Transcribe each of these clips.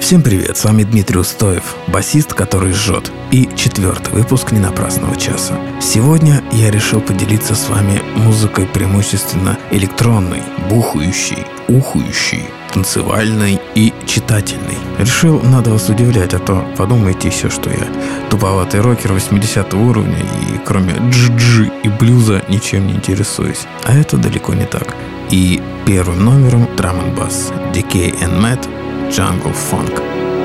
Всем привет, с вами Дмитрий Устоев, басист, который жжет, и 4-й выпуск «Ненапрасного часа». Сегодня я решил поделиться с вами музыкой преимущественно электронной, бухающей, ухающей, танцевальной и читательной. Решил, надо вас удивлять, а то подумайте еще, что я туповатый рокер 80-го уровня и кроме джи и блюза ничем не интересуюсь. А это далеко не так. И первым номером Drum and Bass, Decay and Matt, Jungle Funk.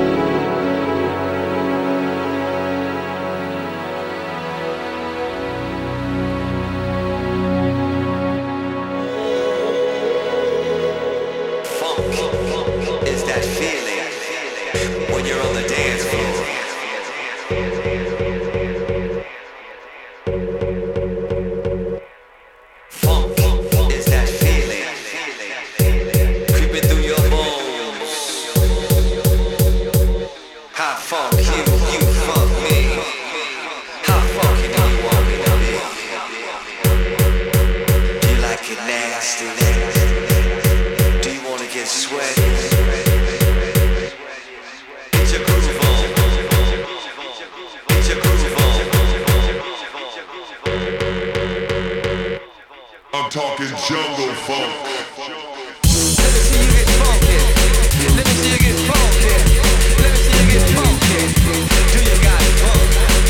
I'm talking jungle funk. Let me see you get funky. Let me see you get funky. Let me see you get funky. Do you got funk?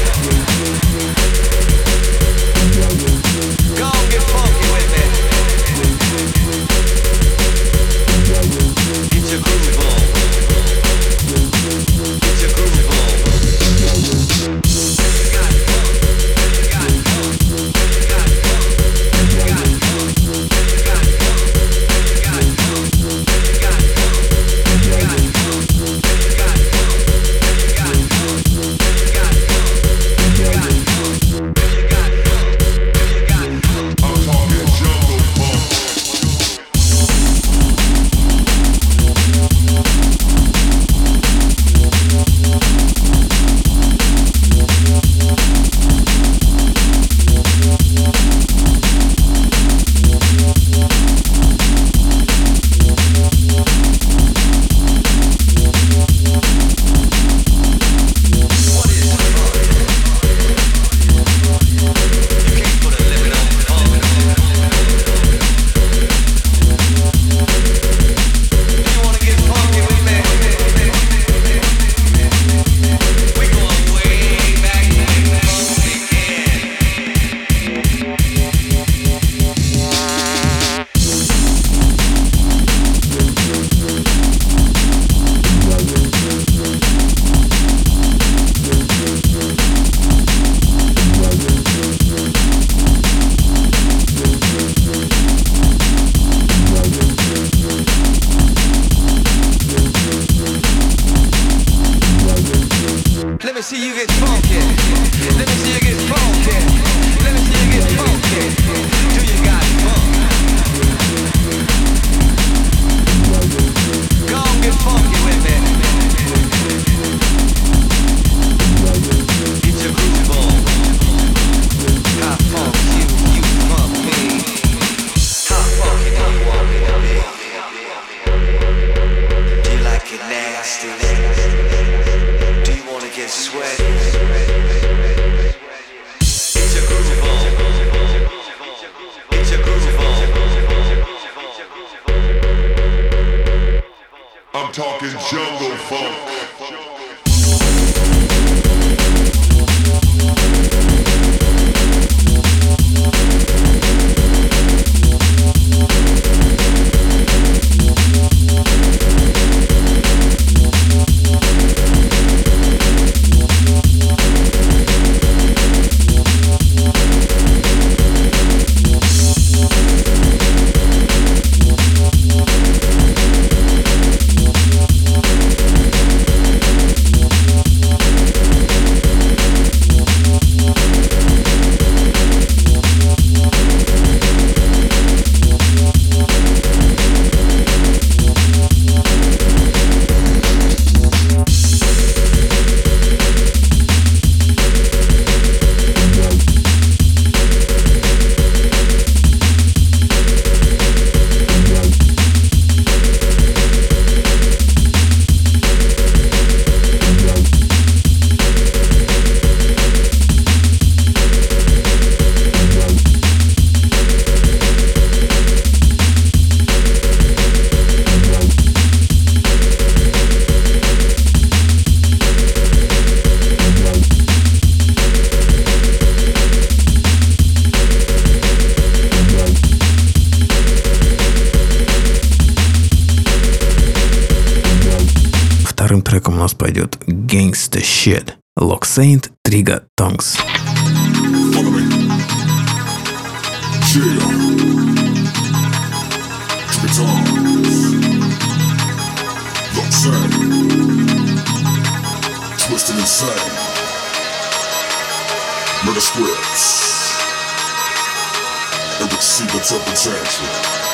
Go on, get funky with me. Get your groove on. Get your groove on. You got funk. You got funk. You got funk. You got funk. You got funk. You got funk. You got funk. You got funk. You got funk. You got funk. You got funk. You got funk. You got funk. You got funk. I'm talking jungle funk. What is funk? You can't put a limit on funk. Do you wanna get funky with me? We going way back when funk began. Let me see you get funky. Let me see you get funky. Let me see you get funky. Do you got funk? Go on, get funky with me. Get your groove on. How funk you funk me. How funky do you want me to be? Do you like it nasty? Do you wanna get sweaty? Get your groove on. Get your groove on. I'm talking jungle funk. вторым треком у нас пойдет Gangsta Shit, Lock Saint, Trigger Tongues. Follow me. Yeah. Trigger tongues. Lock Saint. Twisting insane. Murder scripts. And receive interpretation.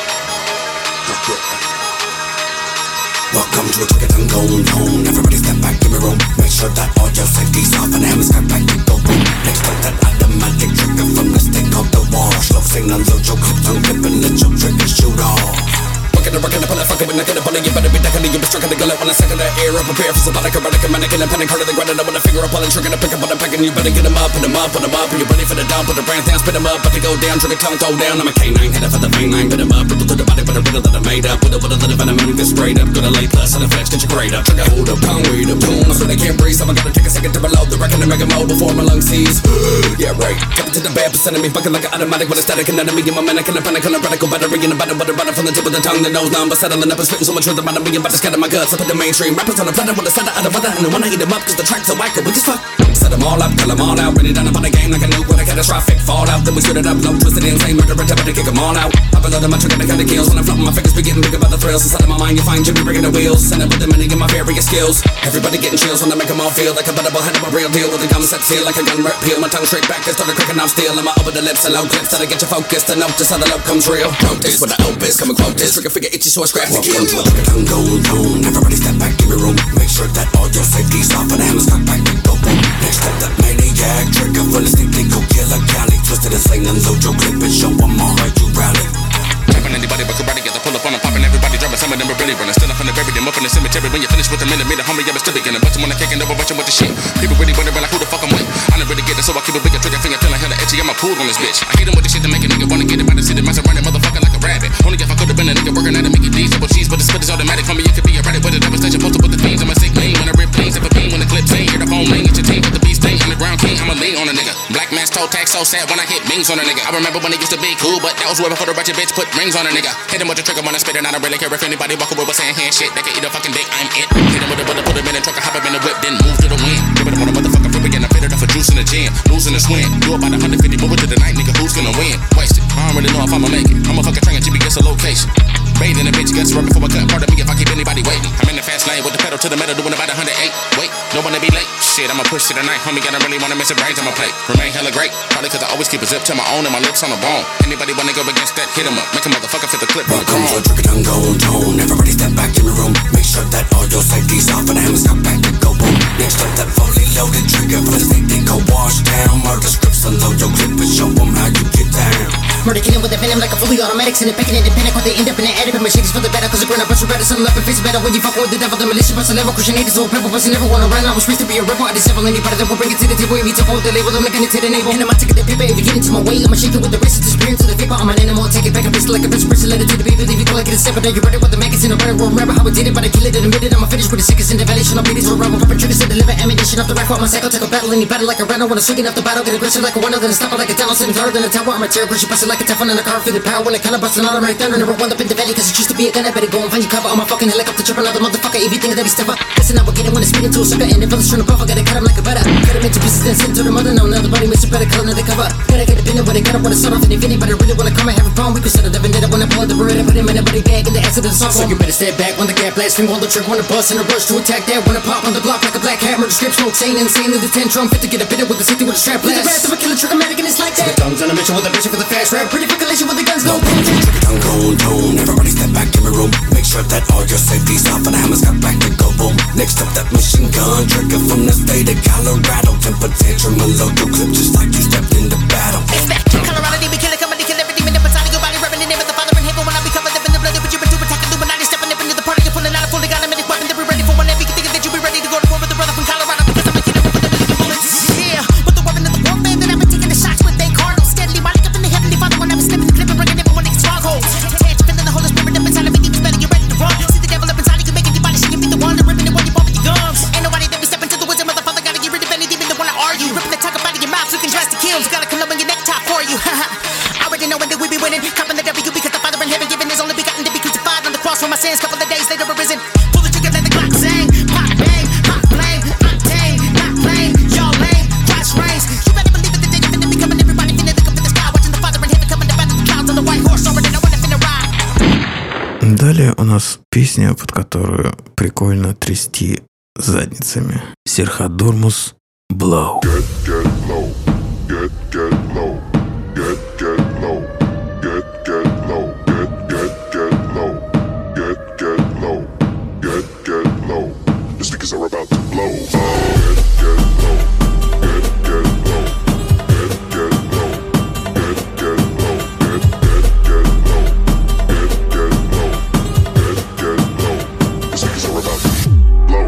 Welcome to a Trigger Tongue Gold Home. Everybody step back, give me room. Make sure that all your safety's off and the hammers got back to go boom. Next up that automatic trigger from the stick called the wash. Slow signal, load your clip, tongue clipping, let your trigger shoot off. Working and pull it, fucking with nothing upon it. You better be ducking it, you be struck in the gullet. When I second the air, I prepare for symbolic, erratic, mannequin, and panic, harder than granite. I want a finger up, pulling, trigger, pick up on the pack, and you better get them up, put them up, put them up. Are you ready for the down? Put the brands down, spit them up, but they go down, trigger tongue, go down. I'm a K9, headed for the vein line, put them up, ripple to the body, but a riddle that I made up. With a little bit of a man, get straight up, gonna lay plus, and the flex, get your grade up. Trigger, hold up, tongue, wait up, boom. I swear they can't breathe, so I gotta take a second to reload the record and make a mode before my lungs seize. Yeah, right. Cut it to the bad percent of me, fucking like an automatic with a static anatomy. In my mannequin, a panic, and a radical battery, and a butter from the tip of the tongue, the nose down, but settling up and spitting so much rhythm. I'm about to scatter my guts. I put the mainstream rappers on the planet with a set out of weather, and I wanna eat them up cause the tracks are whack and weak as fuck. Set them all up, kill them all out. Ready down upon the game like a nuke with a catastrophic fallout. Then we spit it up, low, twisted insane, murder, attempt to kick them all out. Pop a load of my trigger, they cut the kills. When I'm flopping my fingers, be getting bigger by the thrills. Inside of my mind, you find Jimmy breaking the wheels. And I put them in to get my various skills. Everybody getting chills when I make them all feel like a bettable head of a real deal. With the gum set seal like a gun rep peel. My tongue straight back and started cracking off steel. And my over the lips and low clips that'll get you focused. And notice how the love comes real. Quote this with the opus, come and quote this. Trigger figure itchy, so I scratch the kill. Trigger tongue gold tone. Everybody step back, give me room. Make sure that all your safety's off and the hammers got back to go boom. Next up that maniac trigger full of stick, they go kill a Cali. Twisted and sling and load your clip and show them how hard you rally. Trapping anybody but karate, get the pull up on them, popping everybody dropping. Some of them are really running. Still up in the bury them up in the cemetery. When you finish with the minute, homie, I'm still beginning. Bunch when I kicking over, bunch with the shit. People really wondering like who the fuck I'm with. I don't really get it, so I keep a bigger trigger finger, feeling hella itchy. I'm a pool on this bitch. I hit him with the shit to make a nigga wanna get it by the city. Myself running motherfucker like a rabbit. Only if I could've been a nigga working at it, make it D's, double cheese, but the spit is automatic. Homie, you could be a rabbit with a devastation, posted with the fiends. I'm a sick lean when I rip clean, step a beam when the clip sing. Hear the phone ring, it's your team with the beast thing. Underground king, I'm a lean on a nigga. Black man's toe tag so sad when I hit rings on a nigga. I remember when it used to be cool, but that was way before the ratchet bitch put rings on a nigga. Hit him with the trigger when I spit it, I don't really care if anybody walk away with saying hand shit. They can eat a fucking dick, I'm it. Hit him with a bullet, put him in a truck, I hop up in the whip, then move to the wind. Give it up on a motherfucker for again, I fit it up for juice in the gym. Losing the swing, do about 150, move it to the night, nigga, who's gonna win? Wasted, I don't really know if I'ma make it. I'm a fucking train, GPS a location. Bathing a bitch, guts right before I cut. Part of me if I keep anybody waiting. I'm in the fast lane with the pedal to the metal, doing about 108. Wait, don't wanna be late. Shit, I'ma push to the night, homie. I don't really wanna miss a brains on my plate. Remain hella great, probably cause I always keep a zip to my own and my lips on the bone. Anybody wanna go against that, hit him up. Make a motherfucker fit the clip. Welcome to a Trigger Tongue Gold Tone. Everybody step back in the room. Make sure that all your safety's off and the hammers got back to go boom. Next up that fully loaded trigger for the state they go wash down. Murder scripts and load your clip and show them how you get down. Murder killing with a venom like a fully automatic. Send it back and independent. When they end up in the attic, but my shit is for the better. Cause I burn a bunch of better. Some left and face better. When you fuck with the devil, the militia bust a level. Christian haters will pebble, but you never wanna run. I was raised to be a rebel. I disable anybody that will bring it to the table. If you took hold the label, I'm making it to the navel. And I'm taking the paper. If you get into my way, I'ma shake it with the wrist. Disappearing to the vapor. I'm an animal. Take it back. I pistol like a bitch. Press it, let it to the baby. Leave you like it a step. But you ready with the magazine. I'm running. Remember how I did it, but I kill it and admit it. I'ma finish with the sickest in the valley. Should not be these rebel. Puppet triggers and deliver ammunition off the rack. My cycle take a battle. Any battle like a runner. When I'm swinging up the battle, get aggressive like a winner. Then I stop it like a talent. Sitting taller than a tower. I'm a terror. Push it, bust it like a Teflon in a car. Feel the power when I kinda bust an automatic thunder. Never wound up in the valley cause it used to be a gun. I better go and find you cover on my fucking helicopter. Trip another motherfucker. If you think that he's step up, listen, I will get it when I spit into a sucker. And if others trying to buff, I gotta cut him like a butter. Cut him into pieces then send to the mother. No, another body makes a better color than the cover. Gotta get a pin when they got up when I start off. And if anybody really wanna come and have a problem, we can settle the vendetta when I pull the Beretta. Put him in a buddy bag and the acid of the song. So you better step back when the gap blast. Finger on the trigger when the bust and a rush to attack that. When I pop on the block like a black hammer. The script smoke sane insane in the 10 drum. Fit to get a bit with the safety with a strap blast. With the wrath of a killer trigger-matic and it's like that. The tongues on a mission with a vision for the fast rap. Pretty calculation with the guns, no boom. Trigger Tongue Gold Tone. Everybody step back in the room. Make sure that all your safety's off and the hammers got back to go boom. Next up that machine gun trigger from the state of Colorado. Temper tantrum and load your clip just like you stepped into battle. It's back in Colorado, they be killing, coming to kill every demon in battalion. Your body rubbing the name of the Father in heaven. When I be covered up in the blood, but you been too attacking Illuminati. Stepping up into the party, you're pulling out a fully got a minute weapon. They be ready for whenever you can think that you be ready to go to war with the brother from Colorado. Because I'm a kid with the million bullets. Yeah, with the weapon of the warfare that I've been taking the shots with. They cardinal steadily riding up in the heavenly Father when I was slipping the clip and bringing everyone to strongholds. Feeling the Holy Spirit up inside of me, deep better, you're ready to run. See the devil up inside of you, making your body shake. You be the one that ripping it while you bumping your gums. Ain't nobody that be stepping to the wisdom of the Father. Gotta get rid of any demon that wanna argue. Ripping the tongue up out of your mouth, looking drastic kills. Gotta come up in your neck top for you. I already know when that we be winning. Copping the W because the Father in heaven giving his only begotten to be crucified on the cross for my sins. Couple of days later arisen. Pull the trigger, let the clock sing. Pop bang. Сегодня у нас песня, под которую прикольно трясти задницами. Серхат Дурмус «Blow». Get low, get low, get low, get low, get low, get low, get low. The speakers are about to blow. Get low, get low, get low, get low, get low, get low, get low. The speakers are about to blow.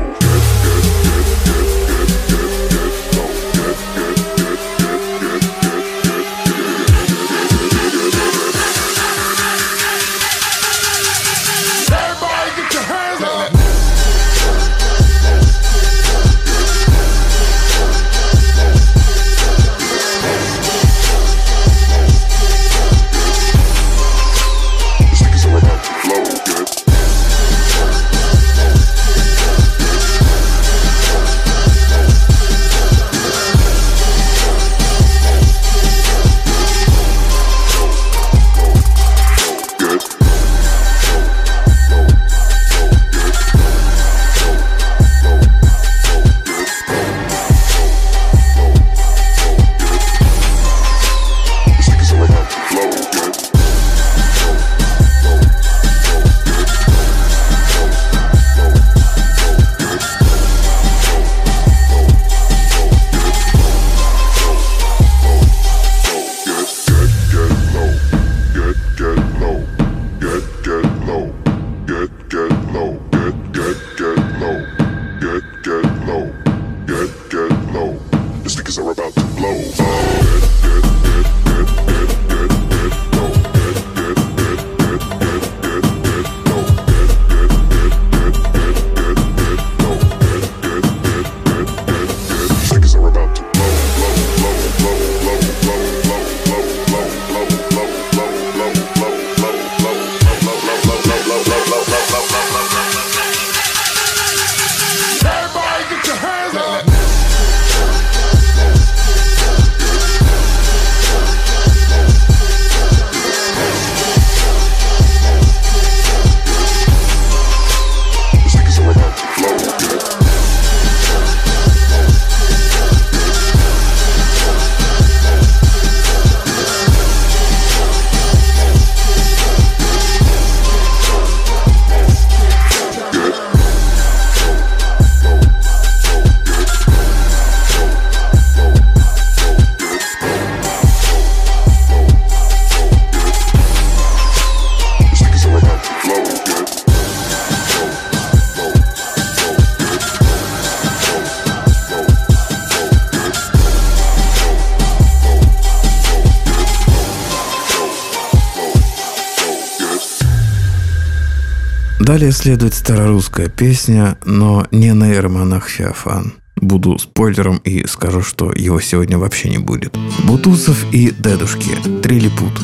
Далее следует старорусская песня, но не нейромонах Феофан. Буду спойлером и скажу, что его сегодня вообще не будет. Бутусов и Дедушки. Трилипут.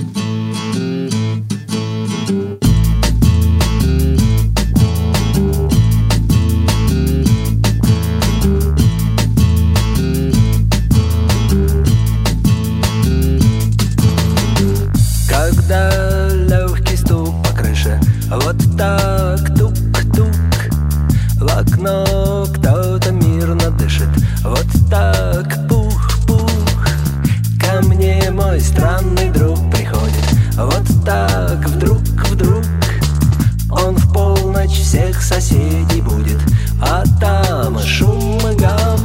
Когда легкий стук по крыше, вот так тук-тук, в окно кто-то мирно дышит, вот так пух-пух, ко мне мой странный друг приходит, вот так вдруг он в полночь всех соседей будет, а там шум и гам.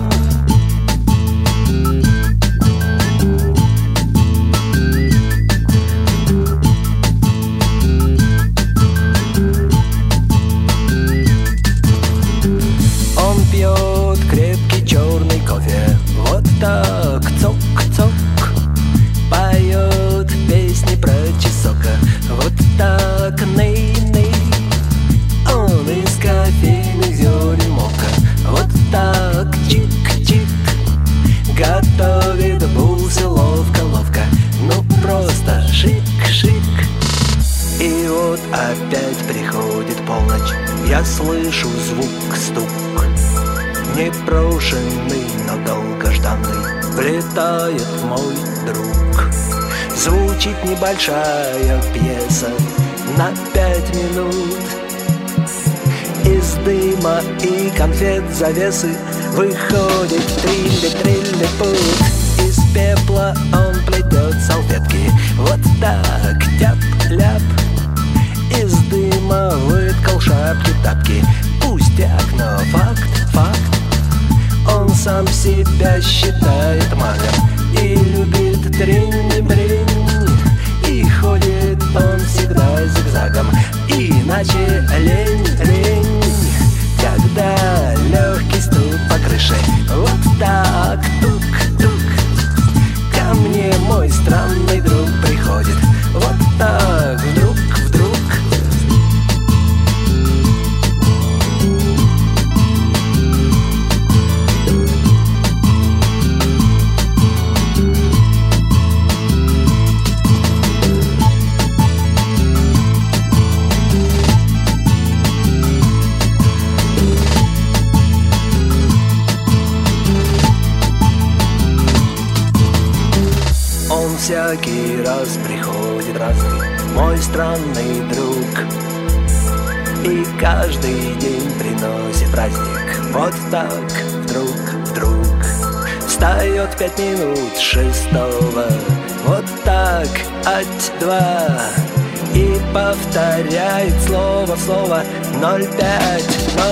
Пьет крепкий черный кофе, вот так цок-цок, поет песни про чесока, вот так ней-ней, он из кофейных зерен мока, вот так чик-чик, готовит бусы ловко-ловко, ну просто шик-шик. И вот опять приходит полночь, я слышу звук-стук, непрошенный, но долгожданный, влетает мой друг. Звучит небольшая пьеса на 5 минут, дыма и конфет завесы выходит трилли-трилли-пут. Из пепла он плетет салфетки. Вот так, тяп-ляп. Из дыма выткал шапки-тапки. Пустяк, но факт. Он сам себя считает магом и любит тринь-бринь. И ходит он всегда зигзагом, иначе лень. Когда легкий стук по крыше, вот так, тук-тук. Ко мне мой странный друг приходит, вот так, вдруг. Всякий раз приходит разный мой странный друг, и каждый день приносит праздник. Вот так, вдруг встает 5 минут 6, вот так, ать-два, и повторяет слово в слово 05.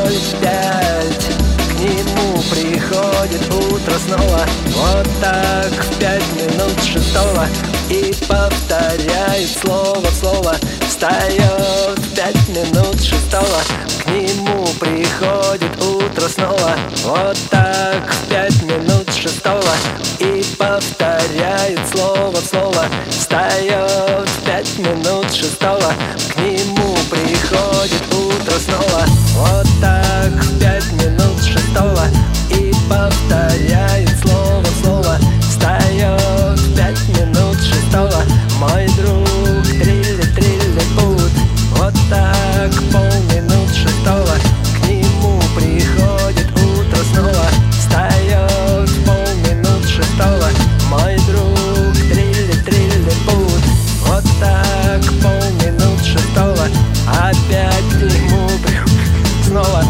К нему приходит утро снова, вот так, в 5 минут 6, и повторяет слово в слово. Встает в 5 минут 6, к нему приходит утро снова, вот так, в 5 минут 6, и повторяет слово в слово. Встает в 5 минут 6, к нему приходит утро снова, вот так, в 5 минут 6, и повторяет слово в слово. Встает в 5 минут 6, мой друг, трилли-трилли-пут. Вот так, полминут 6, к нему приходит утро снова. Встает в полминут 6, мой друг, трилли-трилли-пут. Вот так, полминут 6, опять к нему приходит снова.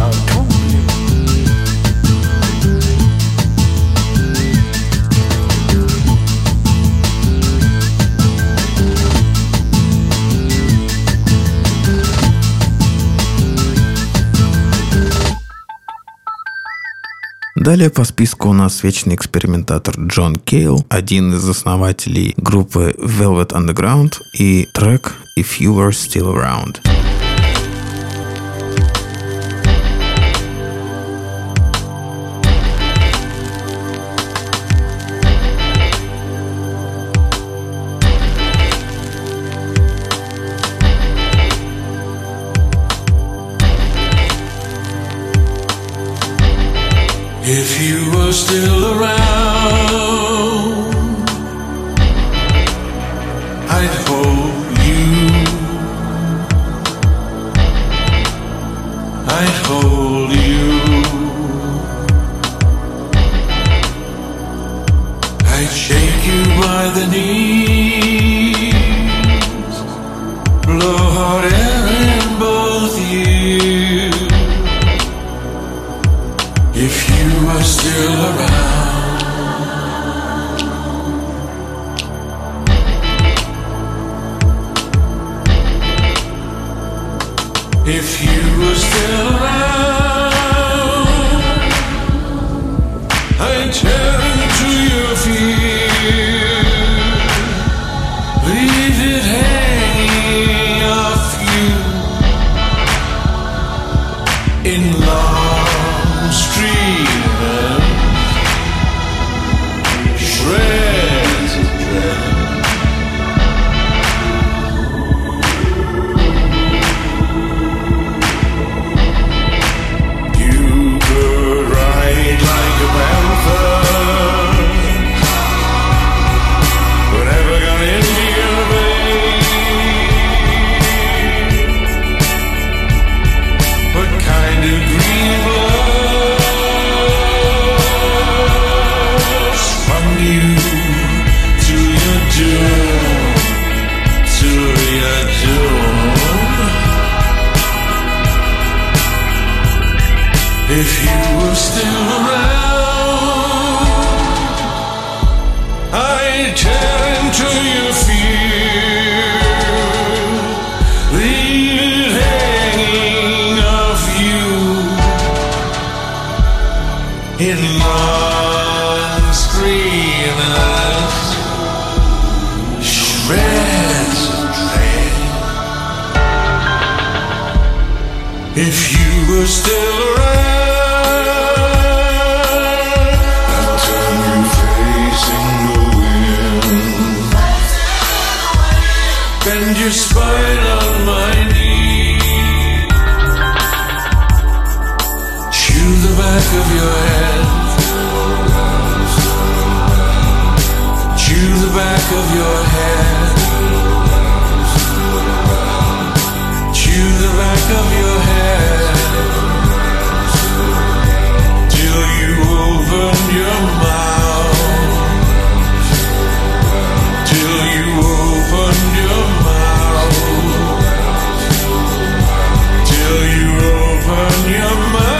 Далее по списку у нас вечный экспериментатор Джон Кейл, один из основателей группы Velvet Underground, и трек «If You Were Still Around». If you were still around, I'd hold you, I'd hold you, I'd shake you by the knees, blow hot air in both ears. If you were still around, if you were still around, I'd turn to your fear, leave it hanging off you in long streamers, shreds of dread. You could ride like a panther, but never got into your veins. What kind of green blood If you were still around, I'd tear into your fear, leave it hanging of you in long screenless shreds of dread. If you were still around, I'd turn you facing the wind, bend your spine on my knee, chew the back of your head, chew the back of your head, chew the back of your head, till you open your mouth, till you open your mouth, till you open your mouth.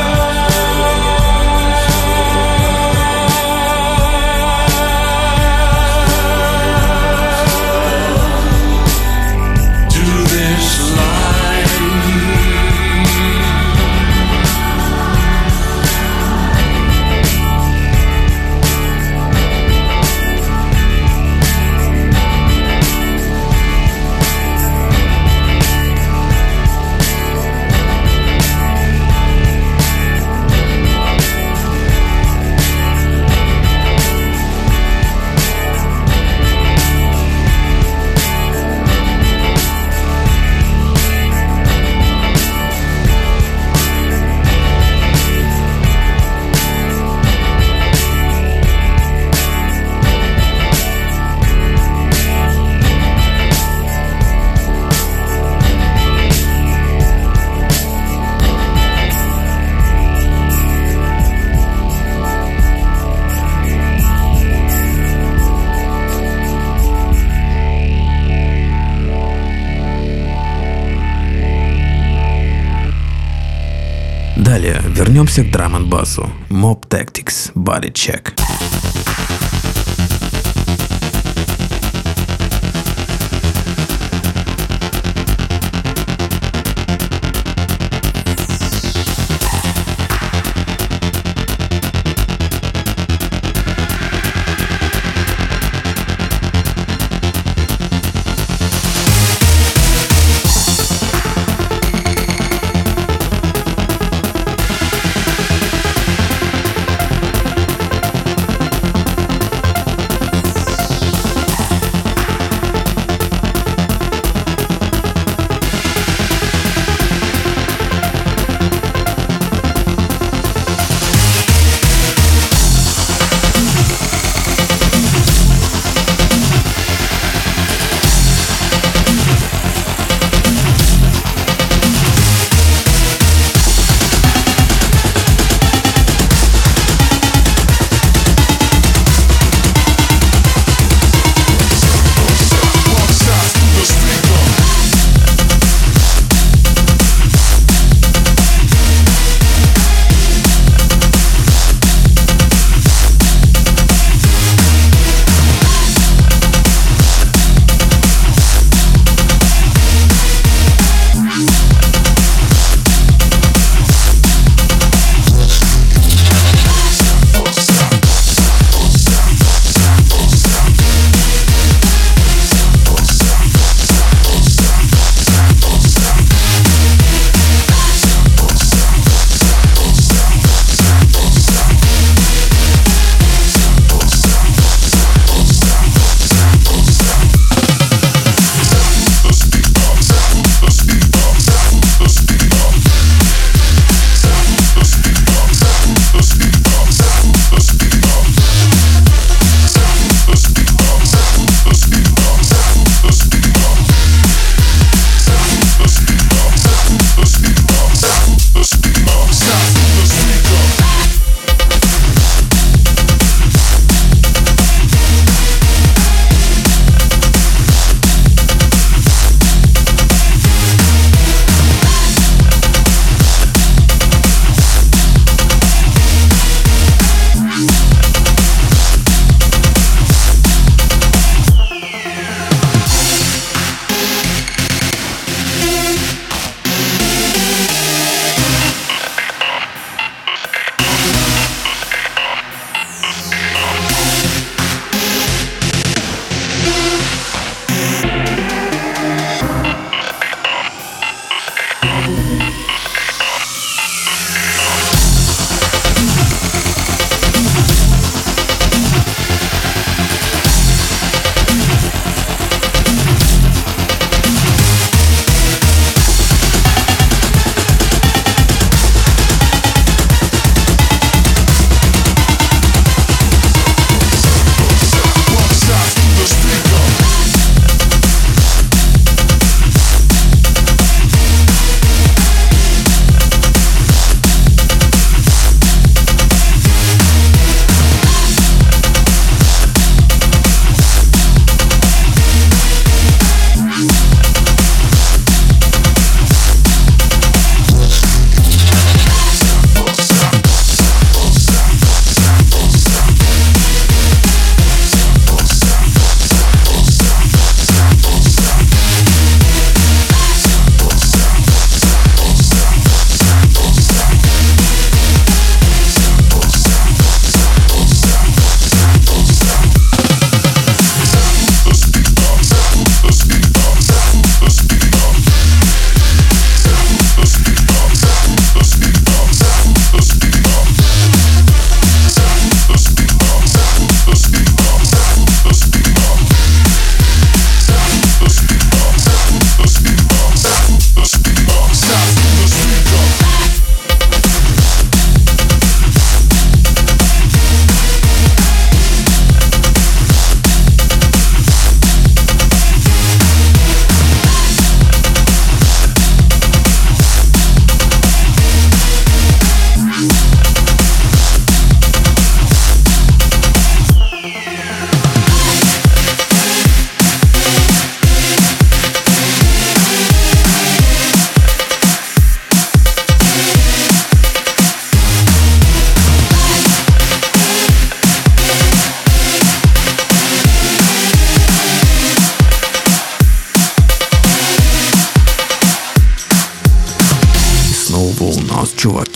Далее вернемся к драм-н-басу. Mob Tactics, Body Check.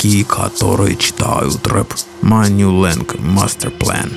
чуваки, которые читают рэп. Манюленг, Master Plan.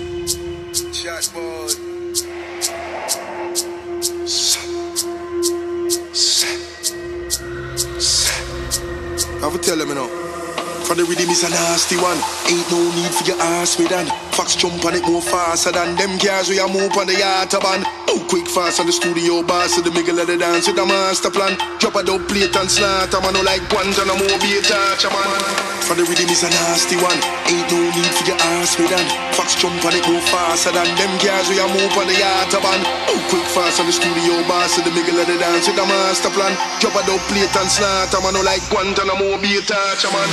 I will tell them, you know. For the rhythm is a nasty one. Ain't no need for your ass with that. Fox jump on it more faster than them cars we a move on the autobahn. Oh, quick fast on the studio bass to the middle of the dance with the master plan. Drop a dope plate and slaughter, man, no like Guantanamo Bay touch, man. For the rhythm is a nasty one. Ain't no need for your ass with that. Fox jump on it more faster than them cars we a move on the autobahn. Oh, quick fast on the studio bass to the middle of the dance with the master plan. Drop a dope plate and slaughter, man, no like Guantanamo Bay touch, man.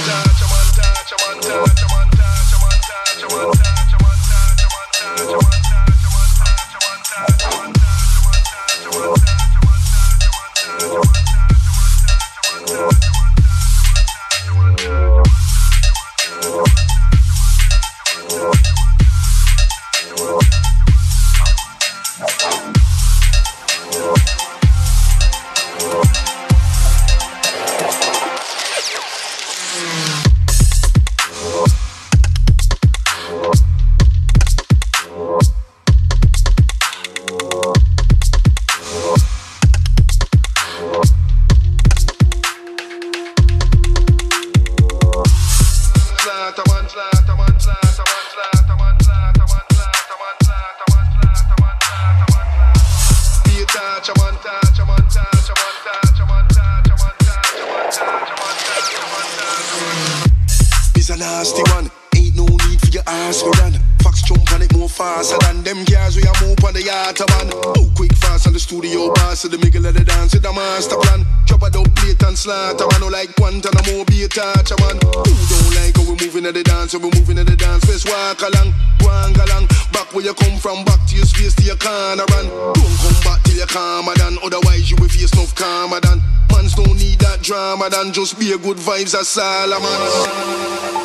It's a nasty one. Ain't no need for your ass for that. Fox jump on it more faster than them cars we a move on the autobahn. Oh, quick fast on the studio bass to the middle of the dance with the master plan. Drop a dope plate and slaughter, man, no like Guantanamo Bay touch, man. Who don't like how we moving at the dance, how we moving at the dance? Let's walk along, walk along. Back where you come from, back to your space, to your corner, and don't come back till you're calmer than. Otherwise you will face enough calmer than. Mans don't need that drama than. Just be a good vibes as Solomon.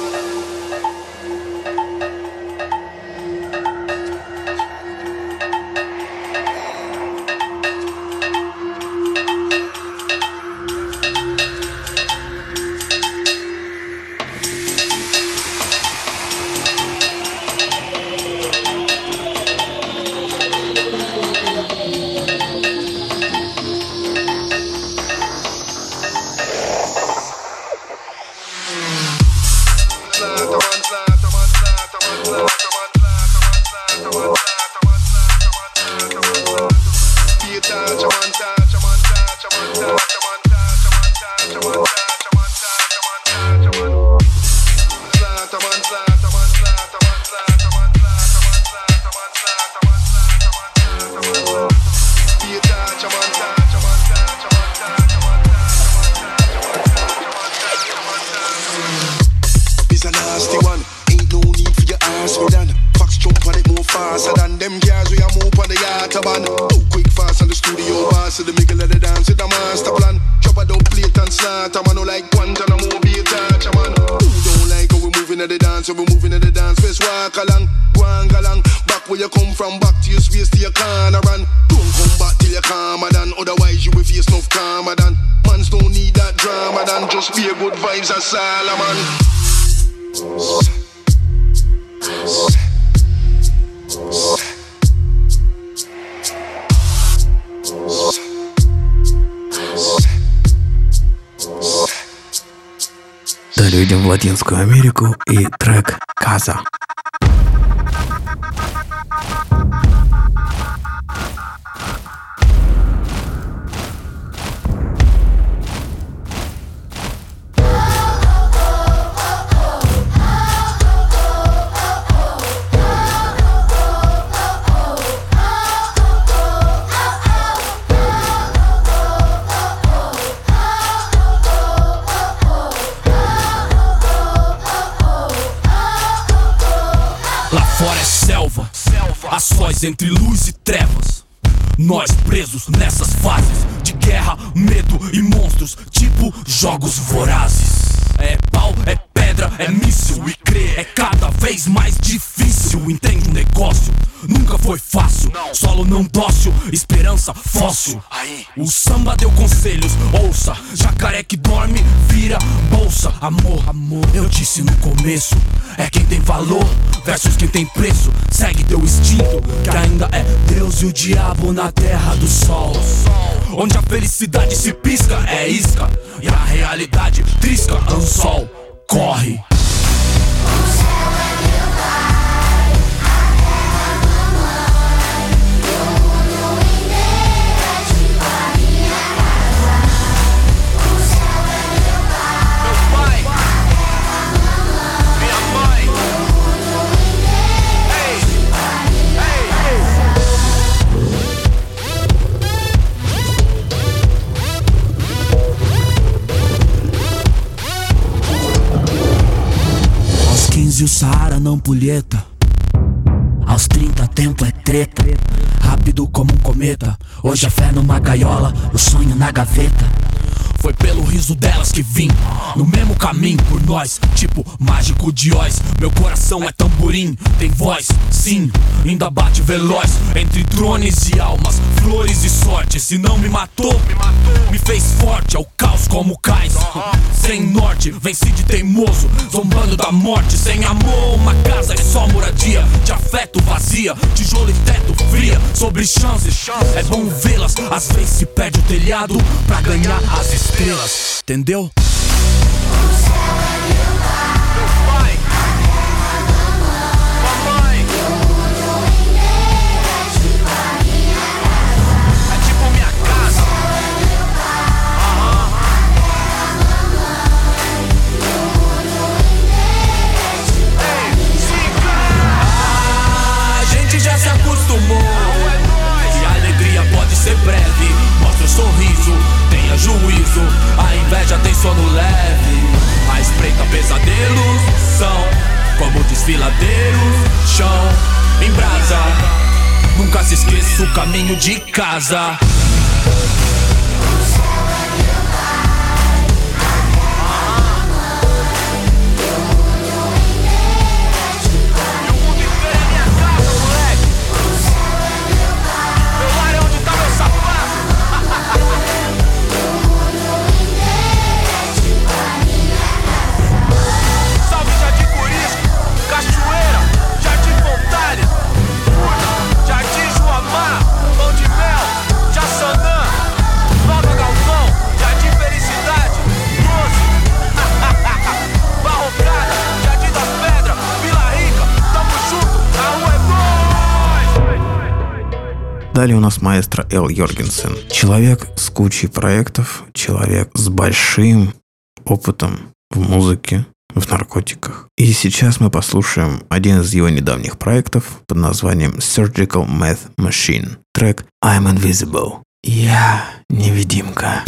Далее идем в Латинскую Америку и трек «Каза». A sós entre luz e trevas. Nós presos nessas fases de guerra, medo e monstros, tipo jogos vorazes. É pau, é pedra, é míssil e crer é cada vez mais difícil. Entende o negócio? nunca foi fácil. Solo não dócil, esperança fóssil. O samba deu conselhos, ouça. Jacaré que dorme, vira bolsa. Amor, eu disse no começo, é quem tem valor versus quem tem preço. Segue teu instinto, que ainda é Deus e o diabo na terra do sol. Onde a felicidade se pisca, é isca, e a realidade trisca, anzol, corre. E o Saara não pulheta. Aos 30 tempo é treta. Rápido como um cometa. Hoje a fé numa gaiola, o sonho na gaveta. Foi pelo riso delas que vim, no mesmo caminho por nós, tipo mágico de Oz. Meu coração é tamborim, tem voz, sim, ainda bate veloz. Entre drones e almas, flores e sorte. Se não me matou, me fez forte. É o caos como cais, sem norte, venci de teimoso, zombando da morte. Sem amor, uma casa é só moradia de afeto vazia, tijolo e teto fria, sobre chances. É bom vê-las, às vezes se perde o telhado pra ganhar as estrelas, entendeu? Que a alegria pode ser breve. Mostra o sorriso, tenha juízo. A inveja tem sono leve. A espreita pesadelos são como desfiladeiros, chão em brasa. Nunca se esqueça o caminho de casa. Далее у нас маэстро Эл Йоргенсен. Человек с кучей проектов, человек с большим опытом в музыке, в наркотиках. И сейчас мы послушаем один из его недавних проектов под названием Surgical Meth Machine. Трек I'm Invisible. Я невидимка.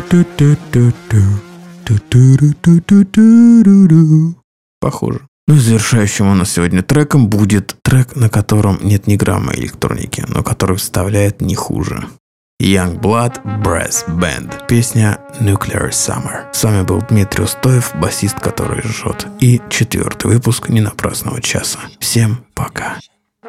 Похоже. Ну и завершающим у нас сегодня треком будет трек, на котором нет ни грамма электроники, но который вставляет не хуже. Youngblood Brass Band. Песня Nuclear Summer. С вами был Дмитрий Устоев, басист, который жжет. И 4-й выпуск ненапрасного часа. Всем пока.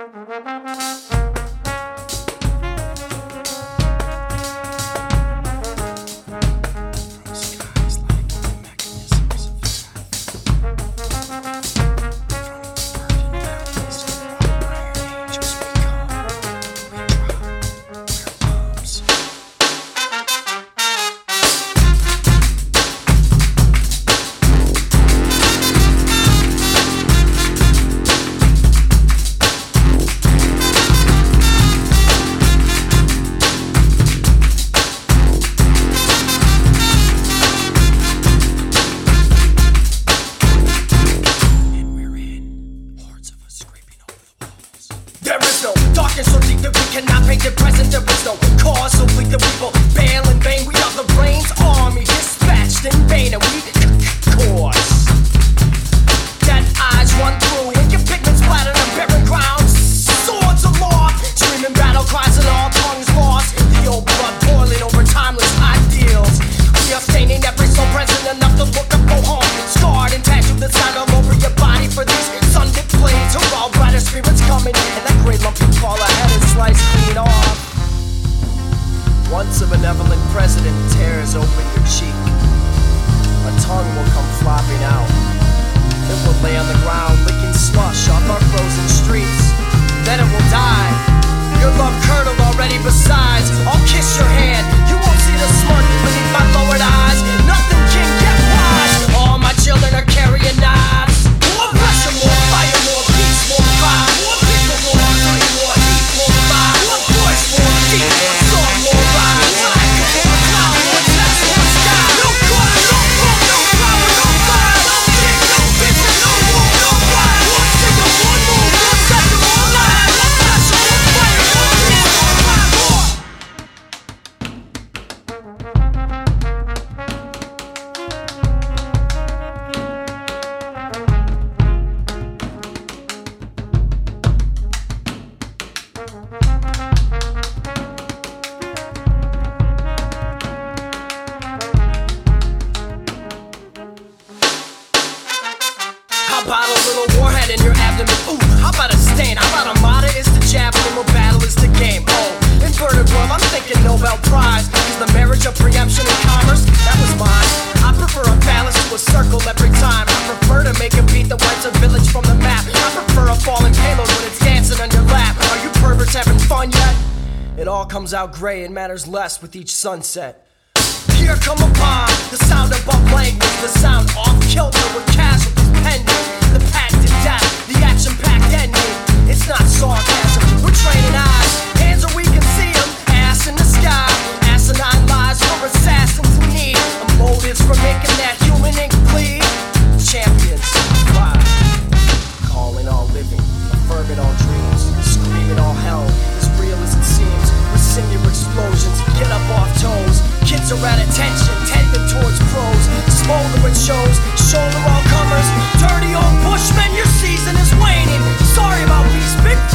Out gray and matters less with each sunset. Here come a bomb, the sound above language, the sound off kilter with casualties pending. The patented death, the action-packed ending. It's not sarcasm, we're training eyes, hands are we can see them, ass in the sky. Asinine lies for assassins in need of motives for making that human ink bleed. Champions, fly, calling all living, affirming all dreams, screaming all hell, as real as it seems. Singular explosions, get up off toes. Kids are at attention, tending towards pros. Smoldering shows, shoulder all comers. Dirty old bushmen, your season is waning. Sorry about these big